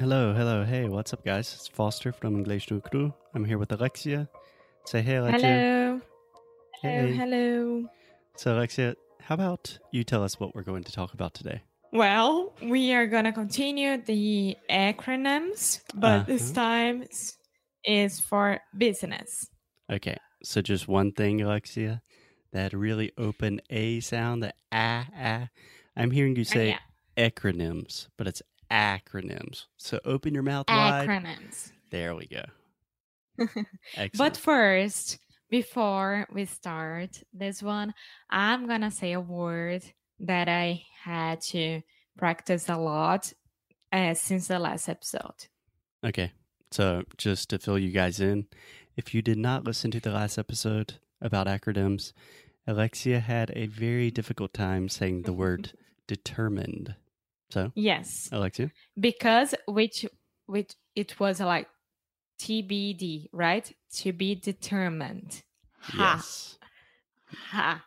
Hello. Hey, what's up, guys? It's Foster from English no Cru. I'm here with Alexia. Say hey, Alexia. Hello. So, Alexia, how about you tell us what we're going to talk about today? Well, we are going to continue the acronyms, but this time is for business. Okay, so just one thing, Alexia. That really open A sound, the ah. I'm hearing you say acronyms, but it's acronyms. So open your mouth wide. Acronyms. There we go. Excellent. But first, before we start this one, I'm going to say a word that I had to practice a lot since the last episode. Okay, so just to fill you guys in, if you did not listen to the last episode about acronyms, Alexia had a very difficult time saying the word determined. So, yes, Alexia? Because which it was like TBD, right? To be determined. Yes. Ha.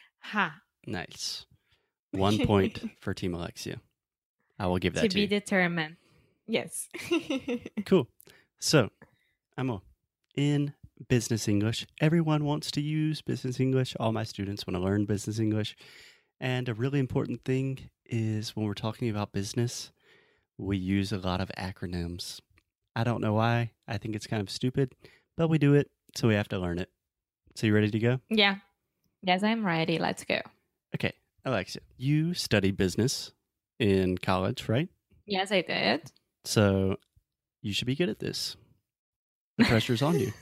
Nice. 1 point for Team Alexia. I will give that to you. To be determined. Yes. Cool. So, Amo, in business English, everyone wants to use business English. All my students want to learn business English. And a really important thing is when we're talking about business, we use a lot of acronyms. I don't know why. I think it's kind of stupid, but we do it, so we have to learn it. So you ready to go? Yeah. Yes, I'm ready. Let's go. Okay. Alexia, you studied business in college, right? Yes, I did. So you should be good at this. The pressure's on you.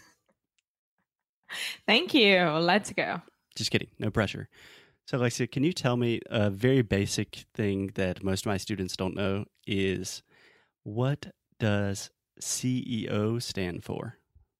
Thank you. Let's go. Just kidding. No pressure. So, Alexia, can you tell me a very basic thing that most of my students don't know is what does CEO stand for?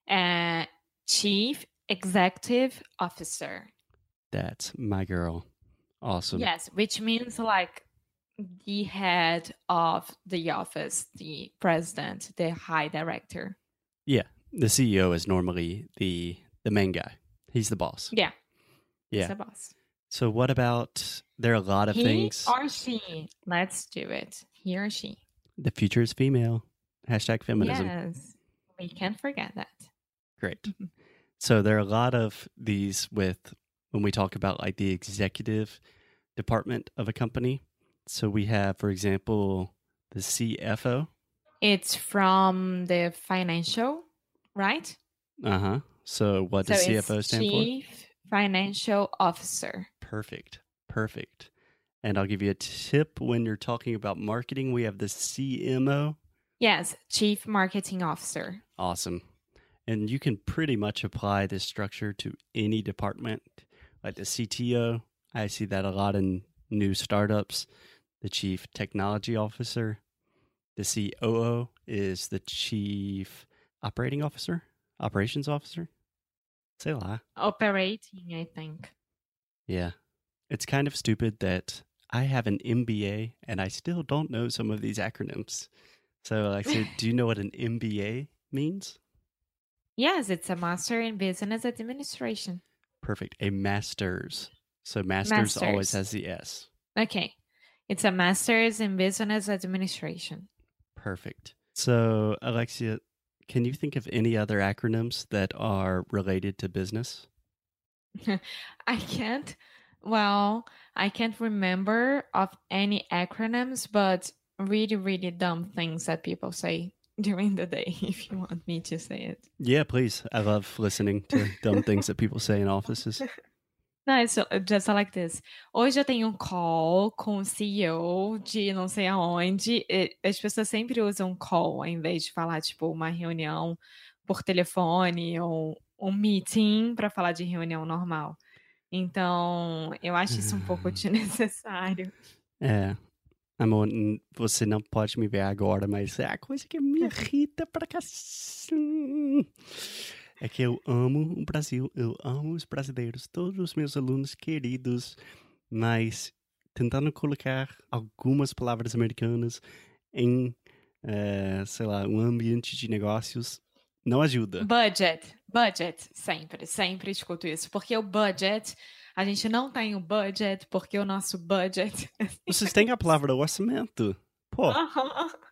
Chief Executive Officer. That's my girl. Awesome. Yes, which means like the head of the office, the president, the high director. Yeah, the CEO is normally the main guy. He's the boss. Yeah. He's the boss. So what about, there are a lot of things. He or she. Let's do it. He or she. The future is female. #feminism. Yes, we can't forget that. Great. So there are a lot of these when we talk about like the executive department of a company. So we have, for example, the CFO. It's from the financial, right? Uh-huh. So what does CFO stand for? Chief Financial Officer. Perfect. And I'll give you a tip when you're talking about marketing. We have the CMO. Yes, Chief Marketing Officer. Awesome. And you can pretty much apply this structure to any department, like the CTO. I see that a lot in new startups. The Chief Technology Officer. The COO is the Chief Operations Officer. Say la. Operating, I think. Yeah. It's kind of stupid that I have an MBA and I still don't know some of these acronyms. So, Alexia, do you know what an MBA means? Yes, it's a Master in Business Administration. Perfect. A master's. So master's always has the S. Okay. It's a Master's in Business Administration. Perfect. So, Alexia, can you think of any other acronyms that are related to business? I can't. Well, I can't remember of any acronyms, but really, really dumb things that people say during the day, if you want me to say it. Yeah, please. I love listening to dumb things that people say in offices. No, it's just like this. Hoje eu tenho um call com o CEO de não sei aonde. As pessoas sempre usam call ao invés de falar, tipo, uma reunião por telefone ou um meeting para falar de reunião normal. Então, eu acho isso um pouco desnecessário. É. Amor, você não pode me ver agora, mas é a coisa que me irrita pra cacete. É que eu amo o Brasil, eu amo os brasileiros, todos os meus alunos queridos, mas tentando colocar algumas palavras americanas em, sei lá, um ambiente de negócios não ajuda. Budget, sempre escuto isso, porque o budget, a gente não tem o budget, porque o nosso budget... Vocês têm a palavra orçamento, pô.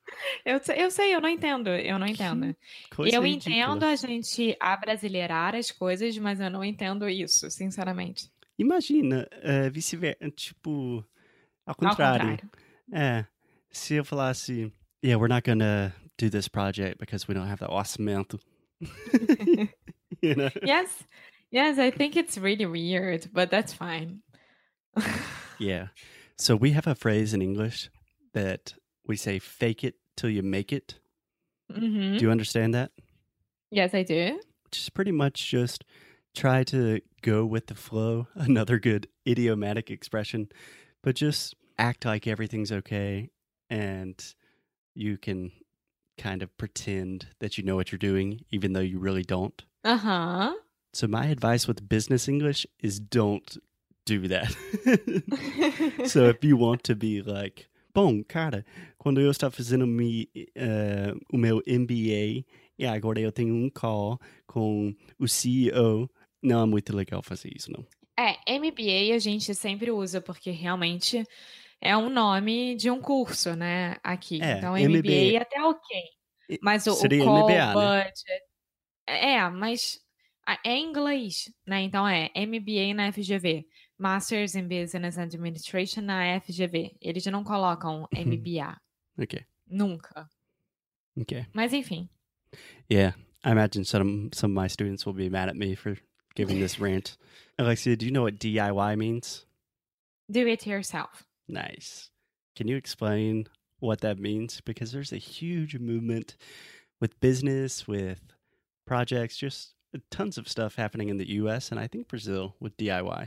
Eu sei, eu não entendo, eu não Que entendo. coisa Eu entendo ridícula. a gente abrasileirar as coisas, mas eu não entendo isso, sinceramente. Imagina, vice-versa, tipo, ao Ao contrário. contrário. É, se eu falasse, yeah, we're not gonna do this project because we don't have the orçamento. You know? Yes, yes, I think it's really weird, but that's fine. Yeah. So we have a phrase in English that we say, fake it till you make it. Mhm. Do you understand that? Yes, I do. Which is pretty much just try to go with the flow. Another good idiomatic expression, but just act like everything's okay and you can kind of pretend that you know what you're doing, even though you really don't. Aham. So my advice with business English is don't do that. So if you want to be like, bom, cara, quando eu estava fazendo o meu MBA e agora eu tenho call com o CEO, não é muito legal fazer isso, não. É, MBA a gente sempre usa, porque realmente é um nome de um curso, né, aqui. Então MBA até ok. Mas o seria call, MBA, né? budget mas é em inglês, né, então é MBA na FGV, Masters in Business Administration na FGV. Eles não colocam MBA, Okay. nunca. Okay. Mas enfim. Yeah, I imagine some of my students will be mad at me for giving this rant. Alexia, do you know what DIY means? Do it yourself. Nice. Can you explain what that means? Because there's a huge movement with business, with projects, just tons of stuff happening in the US and I think Brazil with DIY.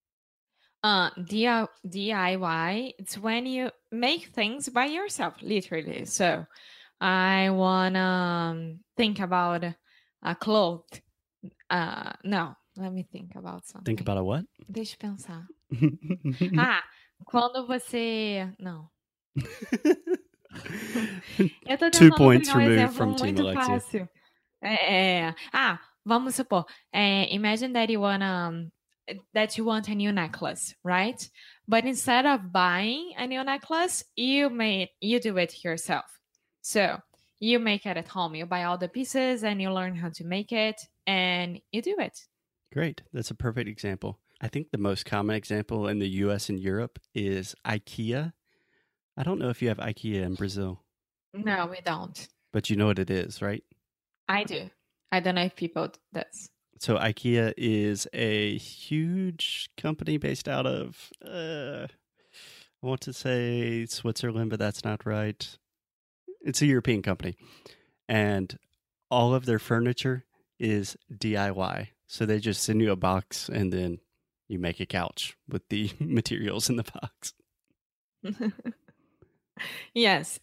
DIY, it's when you make things by yourself, literally. So I wanna think about a cloth. No, let me think about something. Think about a what? Deixa eu pensar. Quando você... Não. Eu tô 2 tentando points pegar um removed exemplo from Team muito Alexia. fácil. Vamos supor, imagine that you want a new necklace, right? But instead of buying a new necklace, you do it yourself. So you make it at home. You buy all the pieces and you learn how to make it and you do it. Great. That's a perfect example. I think the most common example in the US and Europe is IKEA. I don't know if you have IKEA in Brazil. No, we don't. But you know what it is, right? I do. I don't know if people does. So IKEA is a huge company based out of, I want to say Switzerland, but that's not right. It's a European company. And all of their furniture is DIY. So they just send you a box and then you make a couch with the materials in the box. Yes,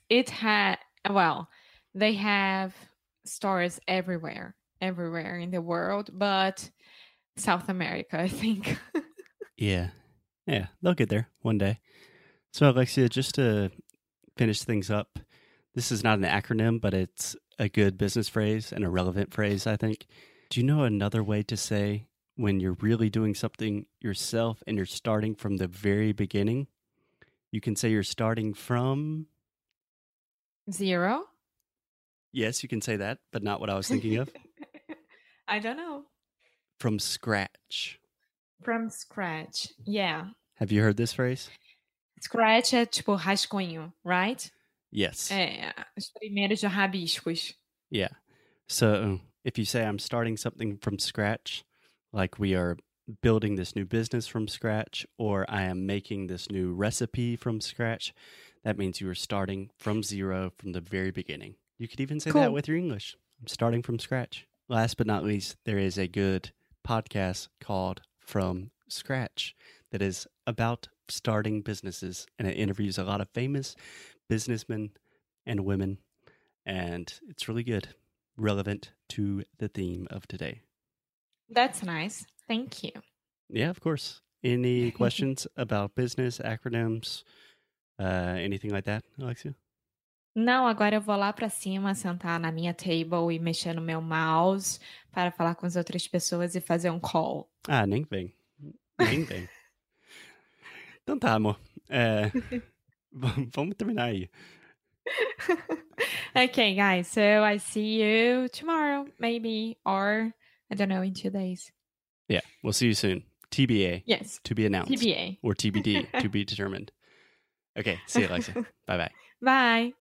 they have stores everywhere in the world, but South America, I think. Yeah, they'll get there one day. So, Alexia, just to finish things up, this is not an acronym, but it's a good business phrase and a relevant phrase, I think. Do you know another way to say when you're really doing something yourself and you're starting from the very beginning? You can say you're starting from... Zero? Yes, you can say that, but not what I was thinking of. I don't know. From scratch. From scratch, yeah. Have you heard this phrase? Scratch é tipo rascunho, right? Yes. Os primeiros rabiscos. Yeah. So if you say I'm starting something from scratch, like we are building this new business from scratch, or I am making this new recipe from scratch, that means you are starting from zero from the very beginning. You could even say that with your English. I'm starting from scratch. Last but not least, there is a good podcast called From Scratch that is about starting businesses, and it interviews a lot of famous businessmen and women, and it's really good, relevant to the theme of today. That's nice. Thank you. Yeah, of course. Any questions about business, acronyms, anything like that, Alexia? Não, agora eu vou lá pra cima, sentar na minha table e mexer no meu mouse para falar com as outras pessoas e fazer um call. Nem vem. Nem vem. Então tá, amor. Vamos terminar aí. Okay, guys. So I see you tomorrow, maybe, or I don't know, in 2 days. Yeah, we'll see you soon. TBA. Yes. To be announced. TBA. Or TBD, to be determined. Okay, see you, Alexa. Bye-bye. Bye.